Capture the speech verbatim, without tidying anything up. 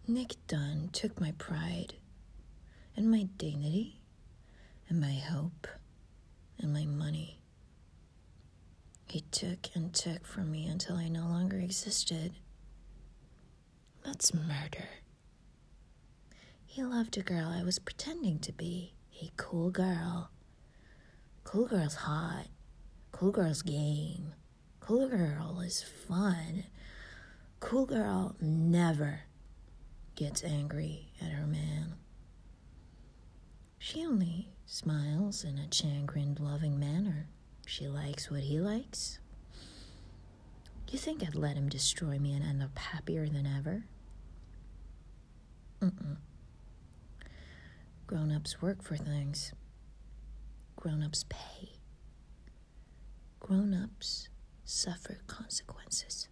Nick Dunn took my pride and my dignity and my hope and my money. He took and took from me until I no longer existed. That's murder. He loved a girl I was pretending to be, a cool girl. Cool girl's hot. Cool girl's game. Cool girl is fun. Cool girl never gets angry at her man. She only smiles in a chagrined, loving manner. She likes what he likes. You think I'd let him destroy me and end up happier than ever? Mm-mm. Grown-ups work for things. Grown-ups pay. Grown-ups suffer consequences.